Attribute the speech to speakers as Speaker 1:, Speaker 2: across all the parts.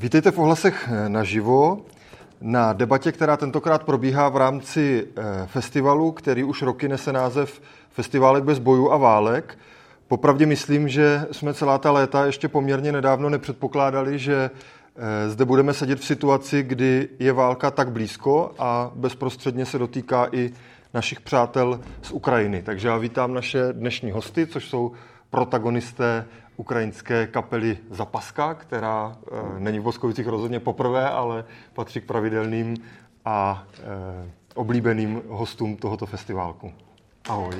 Speaker 1: Vítejte v Ohlasech naživo na debatě, která tentokrát probíhá v rámci festivalu, který už roky nese název Festiválek bez bojů a válek. Popravdě myslím, že jsme celá ta léta ještě poměrně nedávno nepředpokládali, že zde budeme sedět v situaci, kdy je válka tak blízko a bezprostředně se dotýká i našich přátel z Ukrajiny. Takže já vítám naše dnešní hosty, což jsou protagonisté ukrajinské kapely Zapaska, která není v Boskovicích rozhodně poprvé, ale patří k pravidelným a oblíbeným hostům tohoto festiválku. Ahoj.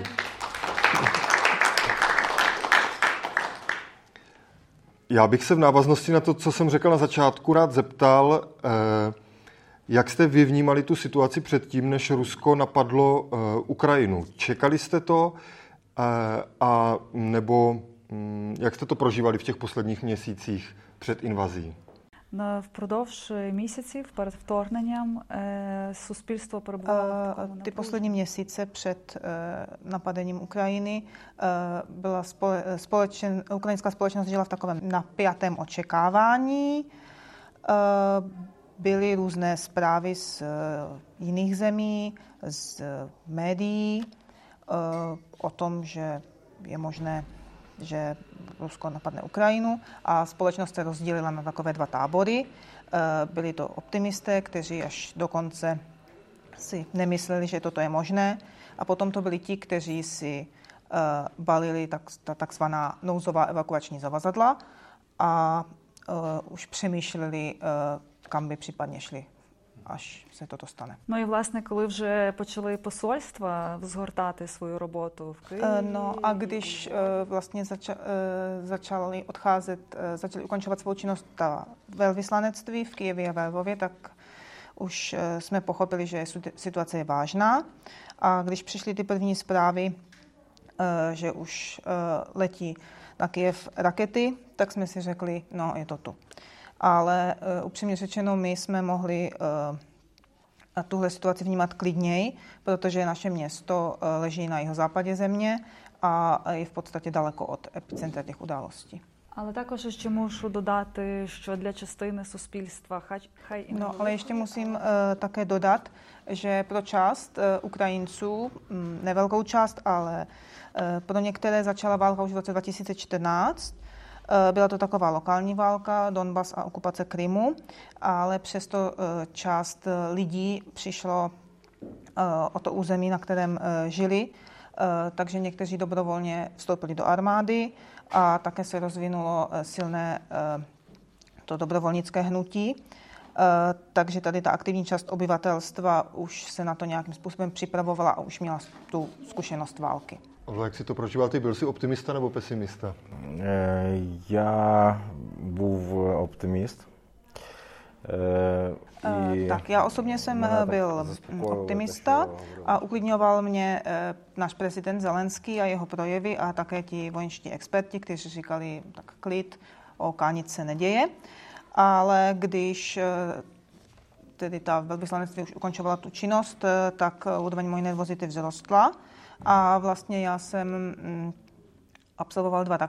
Speaker 1: Já bych se v návaznosti na to, co jsem řekl na začátku, rád zeptal, jak jste vy vnímali tu situaci předtím, než Rusko napadlo Ukrajinu? Čekali jste to a nebo jak jste to prožívali v těch posledních měsících před invazí?
Speaker 2: Впродовж місяців перед вторгненням суспільство перебувало.
Speaker 3: Ty poslední měsíce před napadením Ukrajiny byla ukrajinská společnost žila v takovém napjatém očekávání. Byly různé zprávy z jiných zemí, z médií o tom, že je možné, že Rusko napadne Ukrajinu, a společnost se rozdělila na takové dva tábory. Byli to optimisté, kteří až dokonce si nemysleli, že toto je možné, a potom to byli ti, kteří si balili takzvaná nouzová evakuační zavazadla a už přemýšleli, kam by případně šli, až se toto stane.
Speaker 2: Ну і, власне, коли вже почали посольства згортати свою роботу в Києві.
Speaker 3: No a když vlastně začali ukončovat svou činnost ta velvyslanectví v Kyjevě a ve Lvově, tak už jsme pochopili, že situace je vážná. A když přišly ty první zprávy, že už letí na Kyjev rakety, tak jsme si řekli, no je to tu. Ale upřímně řečeno, my jsme mohli tuhle situaci vnímat klidněji, protože naše město leží na jihozápadě země a je v podstatě daleko od epicentra těch událostí.
Speaker 2: Але також ще мушу додати, що для частини суспільства хай і
Speaker 3: No, ale ještě musím také dodat, že pro část Ukrajinců, nevelkou část, ale pro některé začala válka už v roce 2014. Byla to taková lokální válka, Donbas a okupace Krymu, ale přesto část lidí přišlo o to území, na kterém žili, takže někteří dobrovolně vstoupili do armády a také se rozvinulo silné to dobrovolnické hnutí. Takže tady ta aktivní část obyvatelstva už se na to nějakým způsobem připravovala a už měla tu zkušenost války.
Speaker 1: Jak si to prožíval ty? Byl jsi optimista nebo pesimista?
Speaker 4: Я був оптиміст.
Speaker 3: Tak já osobně jsem byl optimista a uklidňoval mě náš prezident Zelenský a jeho projevy a také ti vojenští experti, kteří říkali, tak klid, nic se neděje. Ale když tedy ta velvyslanectví už ukončovala tu činnost, tak úroveň mojí nervozity vzrostla. A vlastně já jsem absolvoval dva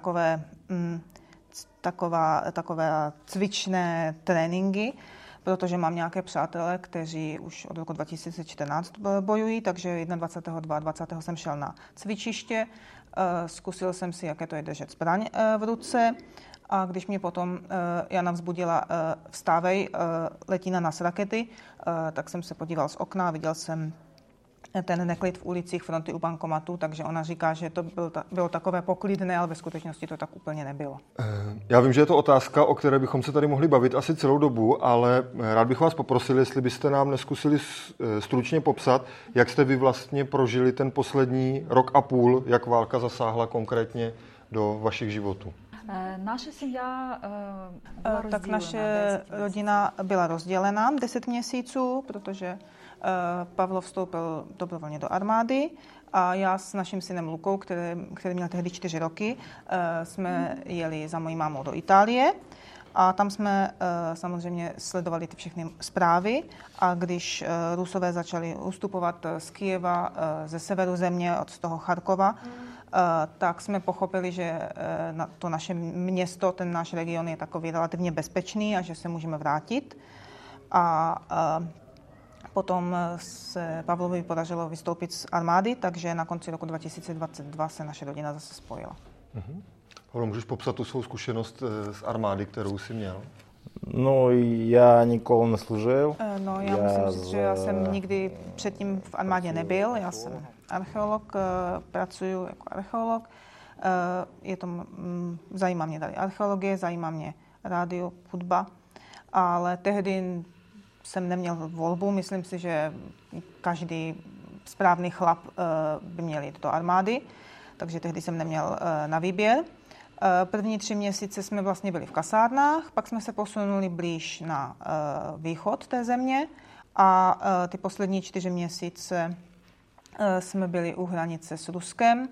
Speaker 3: takové cvičné tréninky, protože mám nějaké přátelé, kteří už od roku 2014 bojují, takže 21. 22. jsem šel na cvičiště, zkusil jsem si, jaké to je držet zbraň v ruce, a když mě potom Jana vzbudila vstávej, letí na nás rakety, tak jsem se podíval z okna a viděl jsem ten neklid v ulicích, fronty u bankomatů, takže ona říká, že to bylo takové poklidné, ale ve skutečnosti to tak úplně nebylo.
Speaker 1: Já vím, že je to otázka, o které bychom se tady mohli bavit asi celou dobu, ale rád bych vás poprosil, jestli byste nám neskusili stručně popsat, jak jste vy vlastně prožili ten poslední rok a půl, jak válka zasáhla konkrétně do vašich životů.
Speaker 2: Naše sім'я
Speaker 3: Tak naše rodina byla rozdělena 10 měsíců, protože Pavlo vstoupil dobrovolně do armády a já s naším synem Lukou, který měl tehdy 4 roky, jsme jeli za mojí mámou do Itálie a tam jsme samozřejmě sledovali ty všechny zprávy, a když Rusové začali ustupovat z Kyjeva, ze severu země, od toho Charkova, tak jsme pochopili, že to naše město, ten náš region je takový relativně bezpečný a že se můžeme vrátit. A potom se Pavlovi podařilo vystoupit z armády, takže na konci roku 2022 se naše rodina zase spojila.
Speaker 1: Pavlo, můžeš popsat tu svou zkušenost z armády, kterou jsi měl?
Speaker 4: No, já nikoli neslužil.
Speaker 3: No, já musím říct, že já jsem nikdy předtím v armádě nebyl. Já jsem archeolog, pracuji jako archeolog. Zajímá mě tady archeologie, zajímá mě rádio, hudba, ale tehdy jsem neměl volbu. Myslím si, že každý správný chlap by měl jít do armády, takže tehdy jsem neměl na výběr. První 3 měsíce jsme vlastně byli v kasárnách, pak jsme se posunuli blíž na východ té země a ty poslední 4 měsíce jsme byli u hranice s Ruskem.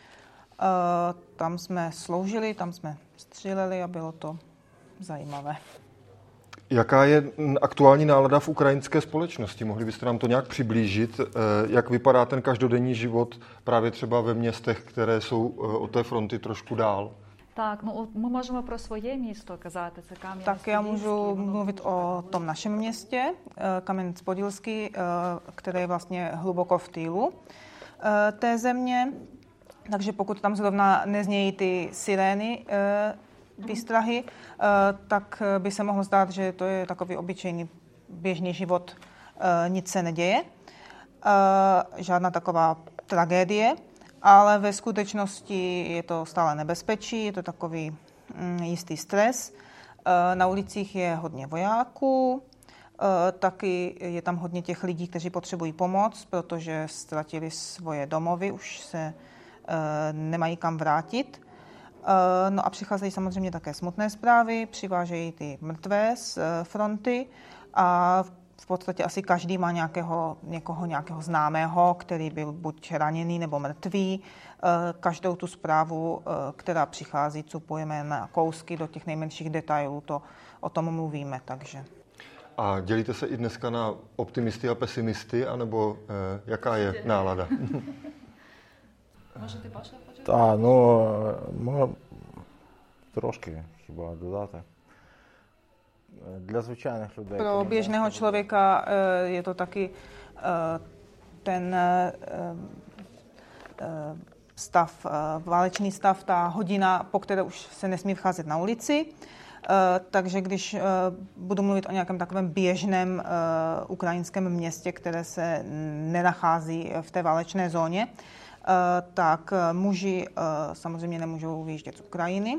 Speaker 3: Tam jsme sloužili, tam jsme stříleli a bylo to zajímavé.
Speaker 1: Jaká je aktuální nálada v ukrajinské společnosti? Mohli byste nám to nějak přiblížit? Jak vypadá ten každodenní život právě třeba ve městech, které jsou od té fronty trošku dál?
Speaker 2: Так, ну ми можемо про своє місто казати, це Кам'янець-Подільський.
Speaker 3: Tak já můžu mluvit o tom našem městě, Kam'янець-Подільський, které je vlastně hluboko v týlu té země. Takže pokud tam zrovna neznějí ty sirény výstrahy, tak by se mohlo zdát, že to je takový obyčejný běžný život, nic se neděje, žádná taková tragédie. Ale ve skutečnosti je to stále nebezpečí, je to takový jistý stres. Na ulicích je hodně vojáků, taky je tam hodně těch lidí, kteří potřebují pomoc, protože ztratili svoje domovy, už se nemají kam vrátit. No a přicházejí samozřejmě také smutné zprávy, přivážejí ty mrtvé z fronty a v podstatě asi každý má nějakého známého, který byl buď raněný nebo mrtvý. Každou tu zprávu, která přichází, cupujeme na kousky do těch nejmenších detailů, o tom mluvíme. Takže.
Speaker 1: A dělíte se i dneska na optimisty a pesimisty, anebo jaká je nálada?
Speaker 2: Може, ти Паша хочеш?
Speaker 4: Так, можна трошки хіба додати. Для звичайних людей.
Speaker 3: Pro běžného člověka je to taky ten stav, válečný stav, ta hodina, po které už se nesmí vcházet na ulici. Takže když budu mluvit o nějakém takovém běžném ukrajinském městě, které se nenachází v té válečné zóně, tak muži samozřejmě nemůžou vyjíždět z Ukrajiny.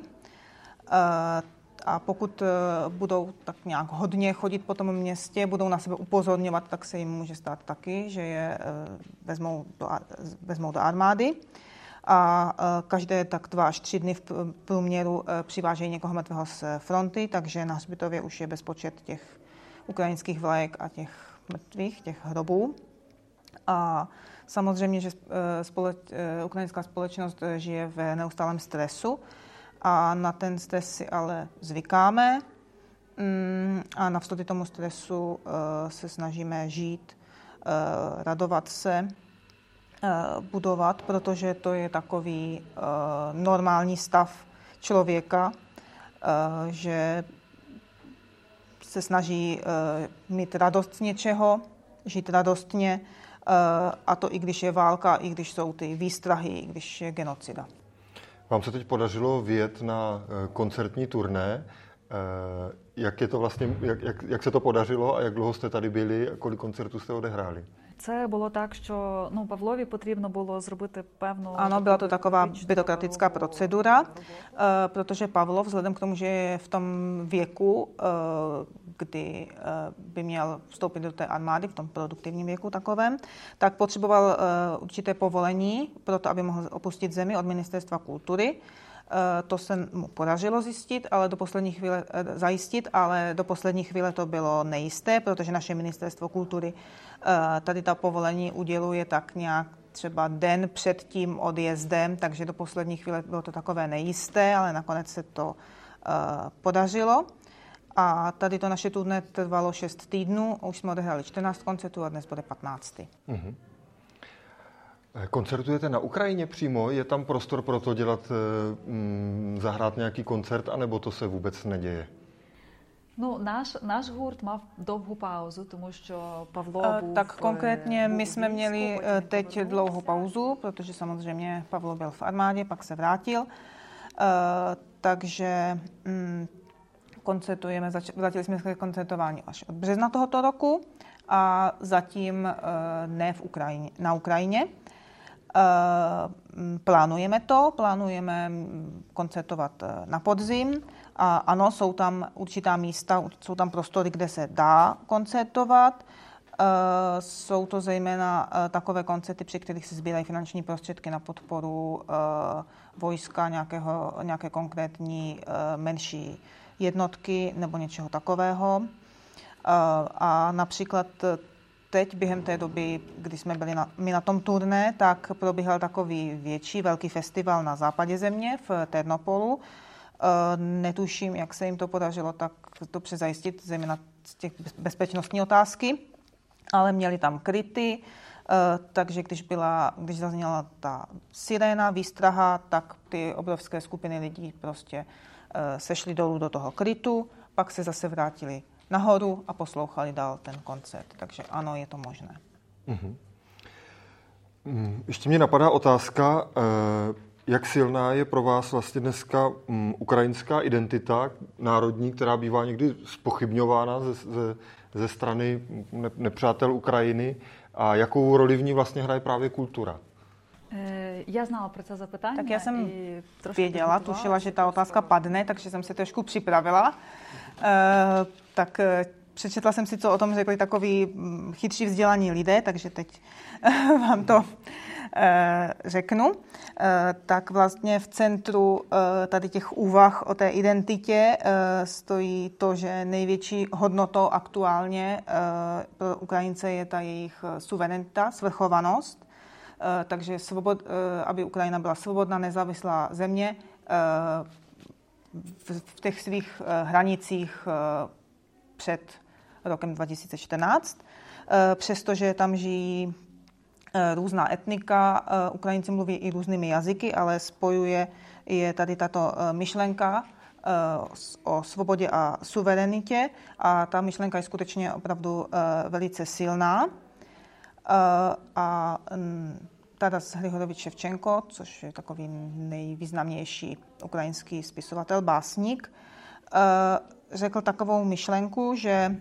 Speaker 3: A pokud budou tak nějak hodně chodit po tom městě, budou na sebe upozorňovat, tak se jim může stát taky, že je vezmou do armády. A každé tak 2 až 3 dny v průměru přivážejí někoho mrtvého z fronty, takže na hřbitově už je bezpočet těch ukrajinských vlajek a těch mrtvých, těch hrobů. A samozřejmě, že ukrajinská společnost žije v neustálém stresu a na ten stres si ale zvykáme a navzdory tomu stresu se snažíme žít, radovat se, budovat, protože to je takový normální stav člověka, že se snaží mít radost z něčeho, žít radostně, a to i když je válka, i když jsou ty výstrahy, i když je genocida.
Speaker 1: Vám se teď podařilo vyjet na koncertní turné. Jak je to vlastně, jak se to podařilo a jak dlouho jste tady byli a kolik koncertů jste odehráli?
Speaker 2: Це було так, що Павлові потрібно було зробити певну...
Speaker 3: Ano, byla to taková byrokratická procedura, protože Pavlov, vzhledem k tomu, že je v tom věku, kdy by měl vstoupit do té armády, v tom produktivním věku takovém, tak potřeboval určité povolení pro to, aby mohl opustit zemi od Ministerstva kultury. To se mu podařilo zajistit, ale do poslední chvíle to bylo nejisté, protože naše Ministerstvo kultury tady ta povolení uděluje tak nějak třeba den před tím odjezdem, takže do poslední chvíle bylo to takové nejisté, ale nakonec se to podařilo. A tady to naše turné trvalo 6 týdnů, už jsme odehráli 14 koncertů a dnes bude 15.
Speaker 1: Mm-hmm. Koncertujete na Ukrajině přímo? Je tam prostor pro to zahrát nějaký koncert, anebo to se vůbec neděje?
Speaker 2: Ну, наш гурт мав довгу паузу, тому що Павло був...
Speaker 3: Tak konkrétně my
Speaker 2: був
Speaker 3: jsme
Speaker 2: у
Speaker 3: měli
Speaker 2: війську, потім
Speaker 3: teď
Speaker 2: повернувся.
Speaker 3: dlouhou pauzu, protože samozřejmě Pavlo byl v armádě, pak se vrátil. Takže koncertujeme, vrátili jsme se k koncertování až od března tohoto roku a zatím ne na Ukrajině. Plánujeme koncertovat na podzim a ano, jsou tam určitá místa, jsou tam prostory, kde se dá koncertovat. Jsou to zejména takové koncerty, při kterých se sbírají finanční prostředky na podporu vojska, nějaké konkrétní menší jednotky nebo něčeho takového. A například teď během té doby, kdy jsme byli my na tom turné, tak probíhal takový velký festival na západě země v Ternopolu. Netuším, jak se jim to podařilo tak dobře zajistit, zejména z těch bezpečnostní otázky, ale měli tam kryty, takže když zazněla ta siréna, výstraha, tak ty obrovské skupiny lidí prostě sešli dolů do toho krytu, pak se zase vrátili nahoru a poslouchali dál ten koncert. Takže ano, je to možné.
Speaker 1: Ještě mě napadá otázka, jak silná je pro vás vlastně dneska ukrajinská identita národní, která bývá někdy zpochybňována ze strany nepřátel Ukrajiny, a jakou roli v ní vlastně hraje právě kultura?
Speaker 2: Я знала про це запитання.
Speaker 3: Tak já jsem
Speaker 2: і трошки
Speaker 3: věděla,
Speaker 2: підготувалася,
Speaker 3: tušila, že ta otázka
Speaker 2: просто-
Speaker 3: padne, takže jsem se trošku připravila. Tak přečetla jsem si, co o tom řekli takoví chytří vzdělaní lidé, takže teď vám to řeknu. Tak vlastně v centru tady těch úvah o té identitě stojí to, že největší hodnotou aktuálně pro Ukrajince je ta jejich suverenita, svrchovanost. Takže aby Ukrajina byla svobodná, nezávislá země v těch svých hranicích před rokem 2014. Přestože tam žijí různá etnika, Ukrajinci mluví i různými jazyky, ale spojuje je tady tato myšlenka o svobodě a suverenitě a ta myšlenka je skutečně opravdu velice silná. A Taras Hrigorovič Ševčenko, což je takový nejvýznamnější ukrajinský spisovatel, básník, řekl takovou myšlenku, že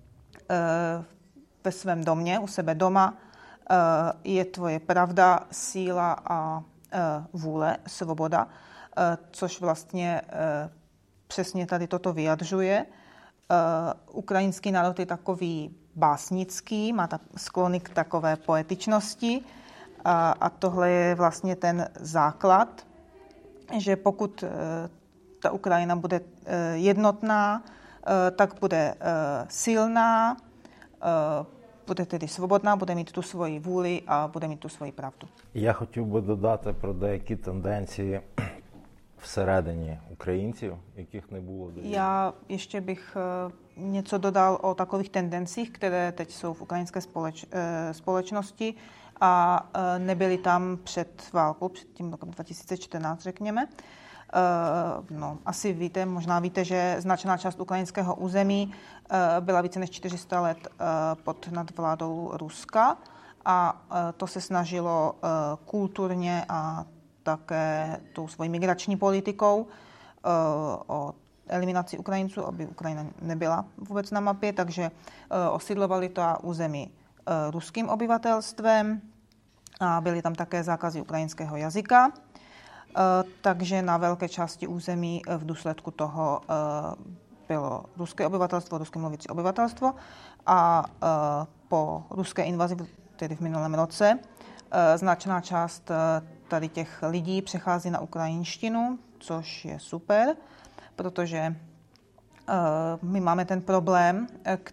Speaker 3: ve svém domě, u sebe doma, je tvoje pravda, síla a vůle, svoboda, což vlastně přesně tady toto vyjadřuje. Ukrajinský národ je takový básnický, má sklony k takové poetičnosti a tohle je vlastně ten základ, že pokud ta Ukrajina bude jednotná, tak bude silná, bude tedy свободна, буде мати ту свою вулі, а буде мати ту свою правду.
Speaker 4: Я хотів би додати про деякі тенденції всередині українців, яких не було до війни.
Speaker 3: Já ještě bych něco dodal o takových tendencích, které teď jsou v ukrajinské společnosti a nebyly tam před válkou, před tím rokem 2014, řekněme. Asi víte, možná víte, že značná část ukrajinského území byla více než 400 let pod nadvládou Ruska a to se snažilo kulturně a také tou svojí migrační politikou o eliminaci Ukrajinců, aby Ukrajina nebyla vůbec na mapě, takže osídlovali to území ruským obyvatelstvem a byly tam také zákazy ukrajinského jazyka. Takže na velké části území v důsledku toho bylo ruské obyvatelstvo, rusky mluvící obyvatelstvo a po ruské invazi, tedy v minulém roce, značná část tady těch lidí přechází na ukrajinštinu, což je super, protože my máme ten problém,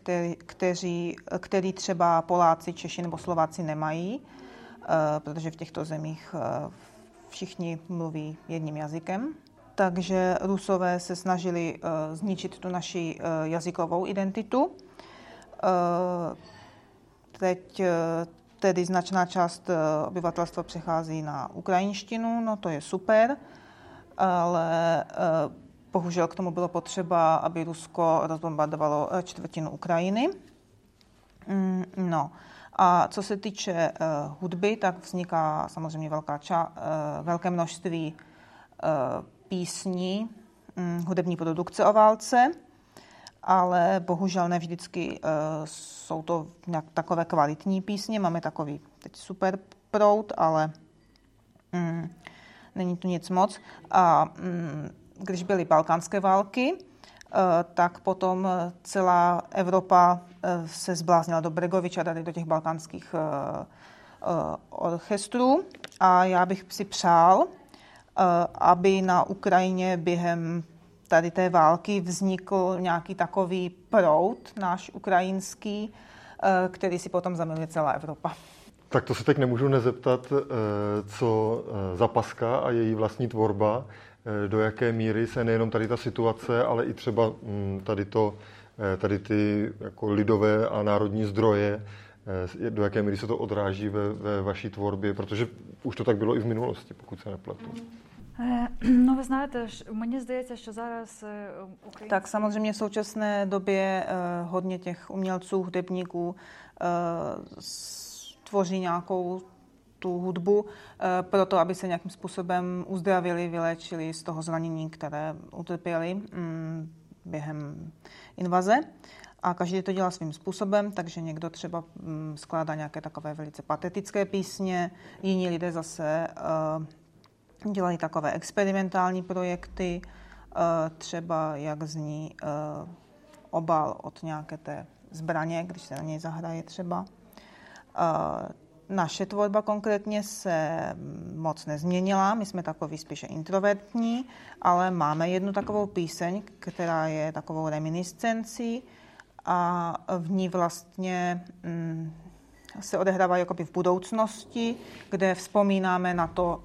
Speaker 3: který třeba Poláci, Češi nebo Slováci nemají, protože v těchto zemích všichni mluví jedním jazykem. Takže Rusové se snažili zničit tu naši jazykovou identitu. Teď tedy značná část obyvatelstva přechází na ukrajinštinu, no to je super, ale bohužel k tomu bylo potřeba, aby Rusko rozbombardovalo čtvrtinu Ukrajiny. No. A co se týče hudby, tak vzniká samozřejmě velké množství písní, hudební produkce o válce, ale bohužel ne vždycky jsou to nějak takové kvalitní písně. Máme takový teď super proud, ale není tu nic moc. A když byly balkánské války, tak potom celá Evropa se zbláznila do Bregoviča, tady do těch balkánských orchestrů. A já bych si přál, aby na Ukrajině během tady té války vznikl nějaký takový proud, náš ukrajinský, který si potom zamiluje celá Evropa.
Speaker 1: Tak to se teď nemůžu nezeptat, co Zapaska a její vlastní tvorba, do jaké míry se nejenom tady ta situace, ale i třeba tady ty jako lidové a národní zdroje, do jaké míry se to odráží ve vaší tvorbě, protože už to tak bylo i v minulosti, pokud se nepletu.
Speaker 2: No, ви знаєте, мені здається, що зараз українські...
Speaker 3: Tak samozřejmě v současné době hodně těch umělců, hudebníků tvoří nějakou tu hudbu proto, aby se nějakým způsobem uzdravili, vyléčili z toho zranění, které utrpěli během invaze. A každý to dělá svým způsobem, takže někdo třeba skládá nějaké takové velice patetické písně, jiní lidé zase dělají takové experimentální projekty, třeba jak zní obal od nějaké té zbraně, když se na něj zahraje třeba. Naše tvorba konkrétně se moc nezměnila, my jsme takový spíše introvertní, ale máme jednu takovou píseň, která je takovou reminiscencí a v ní vlastně se odehrává jakoby v budoucnosti, kde vzpomínáme na to,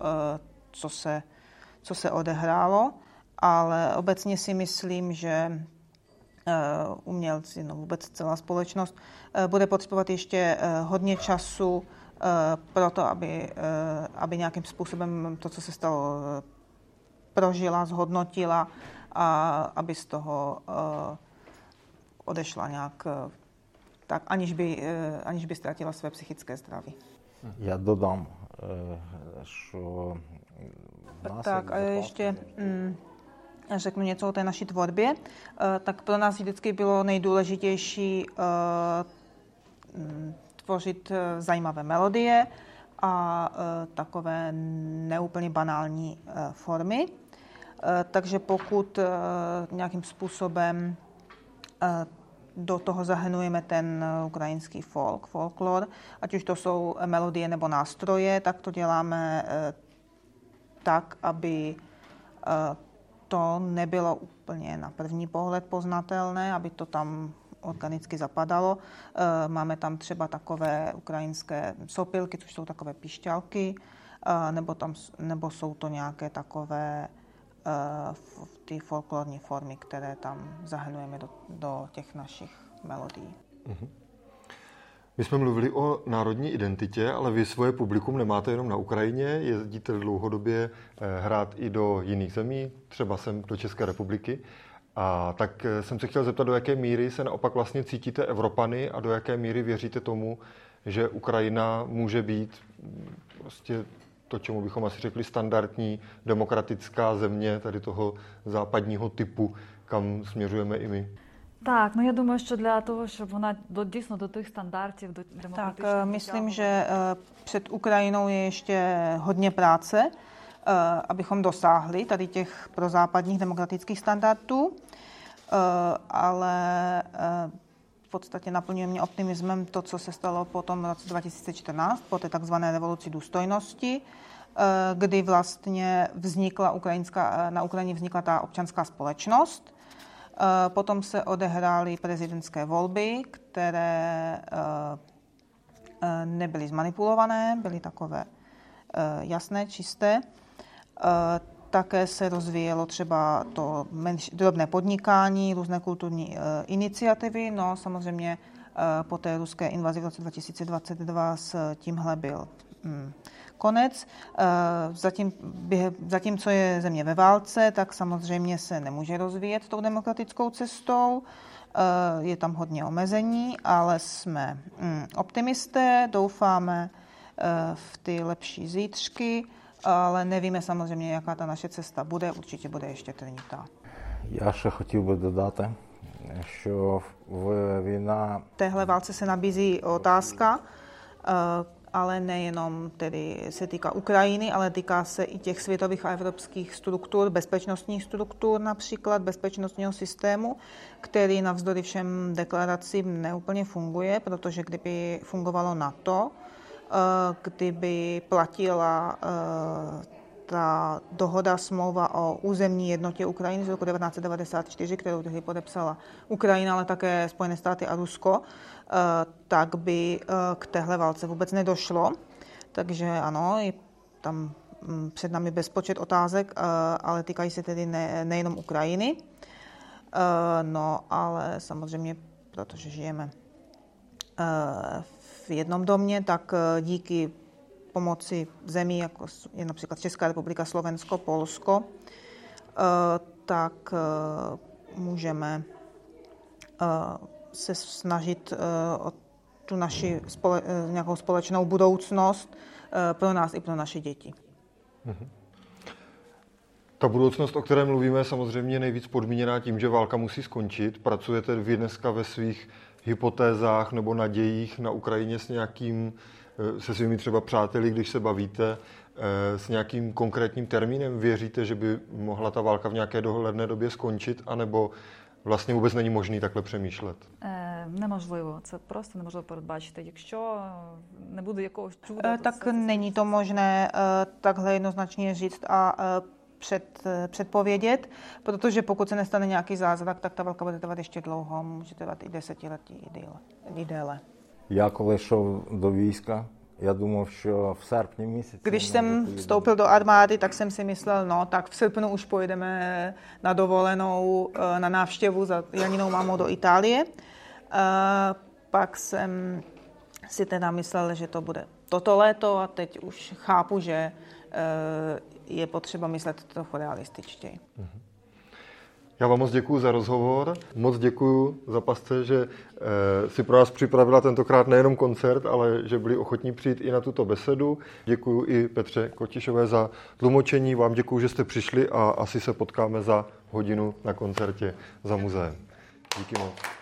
Speaker 3: co se odehrálo, ale obecně si myslím, že umělci, no vůbec celá společnost, bude potřebovat ještě hodně času pro to, aby nějakým způsobem to, co se stalo, prožila, zhodnotila a aby z toho odešla nějak tak, aniž by ztratila své psychické zdraví.
Speaker 4: Já dodám, що
Speaker 3: tak a ještě řeknu něco o té naší tvorbě. Tak pro nás vždycky bylo nejdůležitější tvořit zajímavé melodie a takové neúplně banální formy. Takže pokud nějakým způsobem do toho zahrnujeme ten ukrajinský folklor, ať už to jsou melodie nebo nástroje, tak to děláme tak, aby to nebylo úplně na první pohled poznatelné, aby to tam organicky zapadalo. Máme tam třeba takové ukrajinské sopilky, což jsou takové pišťalky, nebo jsou to nějaké takové ty folklorní formy, které tam zahrnujeme do těch našich melodií.
Speaker 1: Mhm. My jsme mluvili o národní identitě, ale vy svoje publikum nemáte jenom na Ukrajině, jezdíte dlouhodobě hrát i do jiných zemí, třeba sem do České republiky. A tak jsem se chtěl zeptat, do jaké míry se naopak vlastně cítíte Evropany a do jaké míry věříte tomu, že Ukrajina může být prostě to, čemu bychom asi řekli standardní demokratická země tady toho západního typu, kam směřujeme i my.
Speaker 2: Так, ну я думаю, що для того, щоб вона дійсно до тих стандартів, до демократичних...
Speaker 3: Tak, myslím, že před Ukrajinou je ještě hodně práce, abychom dosáhli tady těch prozápadních demokratických standardů, ale v podstatě naplňuje mě optimismem to, co se stalo po tom roce 2014, po té takzvané revoluci důstojnosti, kdy vlastně na Ukrajině vznikla ta občanská společnost. Potom se odehrály prezidentské volby, které nebyly zmanipulované, byly takové jasné, čisté. Také se rozvíjelo třeba to drobné podnikání, různé kulturní iniciativy. No samozřejmě po té ruské invazi v roce 2022 s tímhle byl konec. Zatímco je země ve válce, tak samozřejmě se nemůže rozvíjet tou demokratickou cestou. Je tam hodně omezení, ale jsme optimisté, doufáme v ty lepší zítřky, ale nevíme samozřejmě, jaká ta naše cesta bude. Určitě bude ještě trnitá.
Speaker 4: Я ще хотів би додати, що війна...
Speaker 3: V téhle válce se nabízí otázka, ale nejenom tedy se týká Ukrajiny, ale týká se i těch světových a evropských struktur, bezpečnostních struktur, například bezpečnostního systému, který navzdory všem deklaracím neúplně funguje, protože kdyby fungovalo NATO, kdyby platila ta dohoda, smlouva o územní jednotě Ukrajiny z roku 1994, kterou tehdy podepsala Ukrajina, ale také Spojené státy a Rusko, tak by k téhle válce vůbec nedošlo. Takže ano, je tam před námi bezpočet otázek, ale týkají se tedy nejenom Ukrajiny. No, ale samozřejmě, protože žijeme v jednom domě, tak díky pomoci zemí, jako je například Česká republika, Slovensko, Polsko, tak můžeme se snažit o tu naši nějakou společnou budoucnost pro nás i pro naše děti.
Speaker 1: Ta budoucnost, o které mluvíme, je samozřejmě nejvíc podmíněná tím, že válka musí skončit. Pracujete vy dneska ve svých hypotézách nebo nadějích na Ukrajině se svými třeba přáteli, když se bavíte, s nějakým konkrétním termínem? Věříte, že by mohla ta válka v nějaké dohledné době skončit, anebo vlastně vůbec není možný takhle přemýšlet?
Speaker 2: Неможливо. Це просто неможливо передбачити. Якщо не буде якогось чуда...
Speaker 3: Tak není to možné takhle jednoznačně říct a předpovědět, protože pokud se nestane nějaký zázrak, tak ta válka bude trvat ještě dlouho, může trvat i desetiletí i déle.
Speaker 4: Я коли йшов до війська, я думав, що в серпні місяці...
Speaker 3: Když jsem vstoupil do armády, tak jsem si myslel, no tak v srpnu už pojedeme na dovolenou, na návštěvu za Janinou mámou do Itálie. Pak jsem si teda myslel, že to bude toto léto a teď už chápu, že je potřeba myslet trochu realističtěji.
Speaker 1: Já vám moc děkuju za rozhovor, moc děkuju za pasce, že si pro nás připravila tentokrát nejenom koncert, ale že byli ochotní přijít i na tuto besedu. Děkuju i Petře Kotišové za tlumočení, vám děkuju, že jste přišli a asi se potkáme za hodinu na koncertě za muzeem. Díky moc.